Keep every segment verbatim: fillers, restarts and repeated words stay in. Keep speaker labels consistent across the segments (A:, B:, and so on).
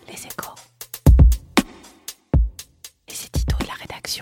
A: Les Échos. Et c'est Tito et la rédaction.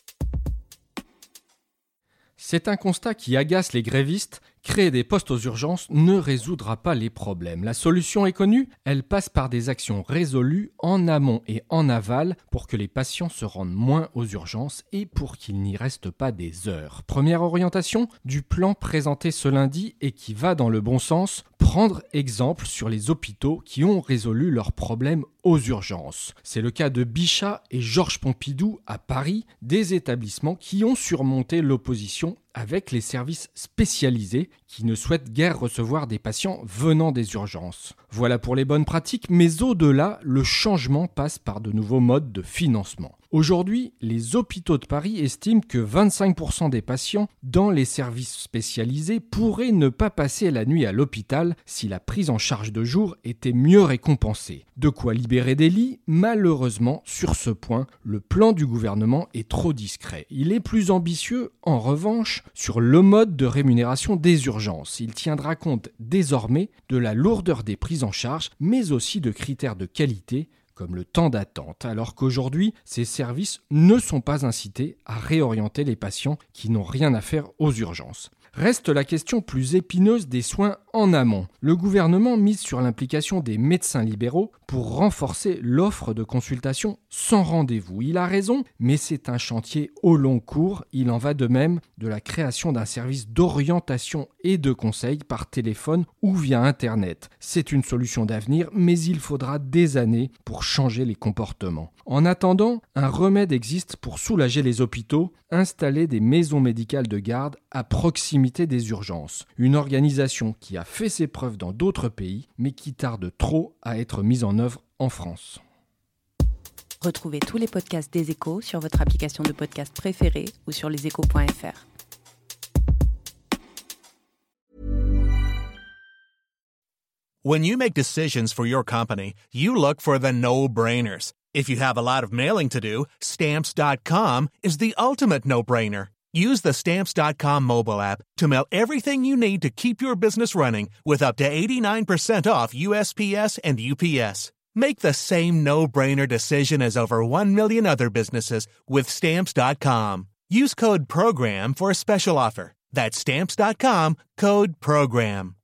B: C'est un constat qui agace les grévistes. Créer des postes aux urgences ne résoudra pas les problèmes. La solution est connue, elle passe par des actions résolues en amont et en aval pour que les patients se rendent moins aux urgences et pour qu'il n'y reste pas des heures. Première orientation du plan présenté ce lundi et qui va dans le bon sens, prendre exemple sur les hôpitaux qui ont résolu leurs problèmes aux urgences. C'est le cas de Bichat et Georges Pompidou à Paris, des établissements qui ont surmonté l'opposition avec les services spécialisés qui ne souhaitent guère recevoir des patients venant des urgences. Voilà pour les bonnes pratiques, mais au-delà, le changement passe par de nouveaux modes de financement. Aujourd'hui, les hôpitaux de Paris estiment que vingt-cinq pour cent des patients dans les services spécialisés pourraient ne pas passer la nuit à l'hôpital si la prise en charge de jour était mieux récompensée. De quoi libérer des lits? Malheureusement, sur ce point, le plan du gouvernement est trop discret. Il est plus ambitieux, en revanche, sur le mode de rémunération des urgences. Il tiendra compte désormais de la lourdeur des prises en charge, mais aussi de critères de qualité, comme le temps d'attente, alors qu'aujourd'hui, ces services ne sont pas incités à réorienter les patients qui n'ont rien à faire aux urgences. Reste la question plus épineuse des soins en amont. Le gouvernement mise sur l'implication des médecins libéraux pour renforcer l'offre de consultation sans rendez-vous. Il a raison, mais c'est un chantier au long cours. Il en va de même de la création d'un service d'orientation et de conseil par téléphone ou via Internet. C'est une solution d'avenir, mais il faudra des années pour changer les comportements. En attendant, un remède existe pour soulager les hôpitaux, installer des maisons médicales de garde à proximité des urgences. Une organisation qui a fait ses preuves dans d'autres pays, mais qui tarde trop à être mise en œuvre en France.
A: Retrouvez tous les podcasts des Échos sur votre application de podcast préférée ou sur leséchos point f r.
C: When you make decisions for your company, you look for the no-brainers. If you have a lot of mailing to do, Stamps dot com is the ultimate no-brainer. Use the Stamps dot com mobile app to mail everything you need to keep your business running with up to eighty-nine percent off U S P S and U P S. Make the same no-brainer decision as over one million other businesses with Stamps dot com. Use code PROGRAM for a special offer. That's Stamps dot com, code PROGRAM.